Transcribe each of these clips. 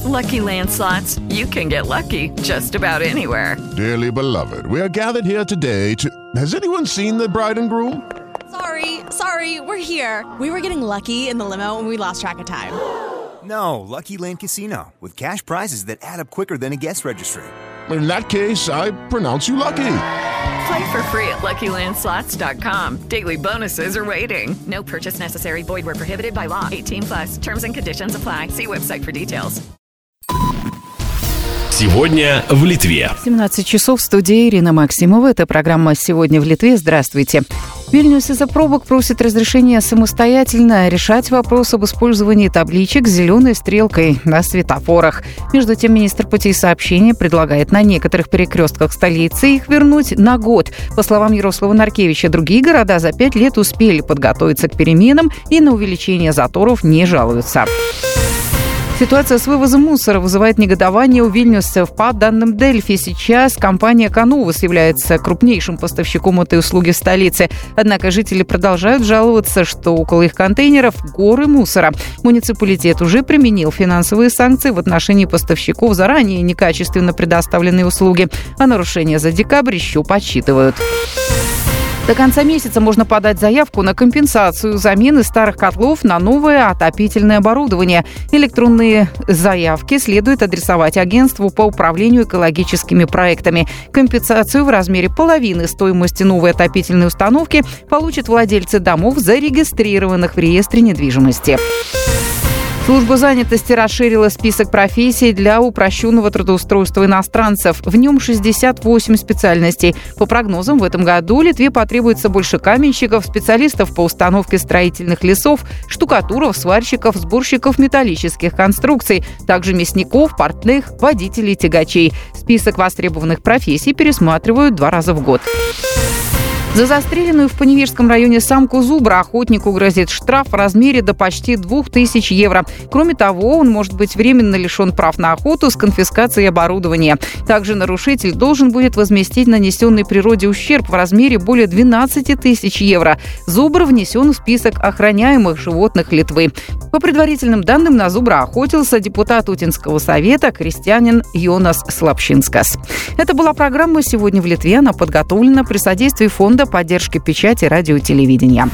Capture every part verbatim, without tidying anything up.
Lucky Land Slots, you can get lucky just about anywhere. Dearly beloved, we are gathered here today to... Has anyone seen the bride and groom? Sorry, sorry, we're here. We were getting lucky in the limo and we lost track of time. No, Lucky Land Casino, with cash prizes that add up quicker than a guest registry. In that case, I pronounce you lucky. Play for free at lucky land slots dot com. Daily bonuses are waiting. No purchase necessary. Void where prohibited by law. eighteen plus. Terms and conditions apply. See website for details. Сегодня в Литве. семнадцать часов в студии Ирина Максимова. Это программа «Сегодня в Литве». Здравствуйте. Вильнюс из-за пробок просит разрешения самостоятельно решать вопрос об использовании табличек с зеленой стрелкой на светофорах. Между тем, министр путей сообщения предлагает на некоторых перекрестках столицы их вернуть на год. По словам Ярослава Наркевича, другие города за пять лет успели подготовиться к переменам и на увеличение заторов не жалуются. Ситуация с вывозом мусора вызывает негодование у вильнюсцев. По данным Дельфи, сейчас компания «Канувас» является крупнейшим поставщиком этой услуги в столице. Однако жители продолжают жаловаться, что около их контейнеров горы мусора. Муниципалитет уже применил финансовые санкции в отношении поставщиков за ранее некачественно предоставленные услуги. А нарушения за декабрь еще подсчитывают. До конца месяца можно подать заявку на компенсацию замены старых котлов на новое отопительное оборудование. Электронные заявки следует адресовать агентству по управлению экологическими проектами. Компенсацию в размере половины стоимости новой отопительной установки получат владельцы домов, зарегистрированных в реестре недвижимости. Служба занятости расширила список профессий для упрощенного трудоустройства иностранцев. В нем шестьдесят восемь специальностей. По прогнозам, в этом году Литве потребуется больше каменщиков, специалистов по установке строительных лесов, штукатуров, сварщиков, сборщиков металлических конструкций, также мясников, портных, водителей тягачей. Список востребованных профессий пересматривают два раза в год. За застреленную в Поневежском районе самку зубра охотнику грозит штраф в размере до почти двух тысяч евро. Кроме того, он может быть временно лишен прав на охоту с конфискацией оборудования. Также нарушитель должен будет возместить нанесенный природе ущерб в размере более двенадцати тысяч евро. Зубр внесен в список охраняемых животных Литвы. По предварительным данным, на зубра охотился депутат Утинского совета крестьянин Йонас Слапшинскас. Это была программа «Сегодня в Литве». Она подготовлена при содействии фонда поддержки печати, радио и телевидения.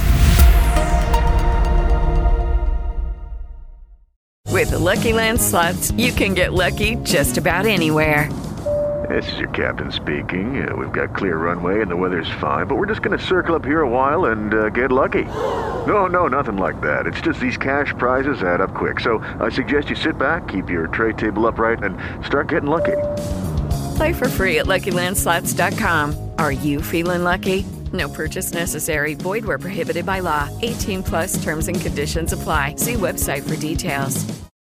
With Lucky Land Slots, you can get lucky just about anywhere. This is your captain speaking. Uh, we've got clear runway and the weather's fine, but we're just going to circle up here a while and uh, get lucky. No, no, nothing like that. It's just these cash prizes add up quick. So I suggest you sit back, keep your tray table upright, and start getting lucky. Play for free at lucky land slots dot com. Are you feeling lucky? No purchase necessary. Void where prohibited by law. eighteen plus terms and conditions apply. See website for details.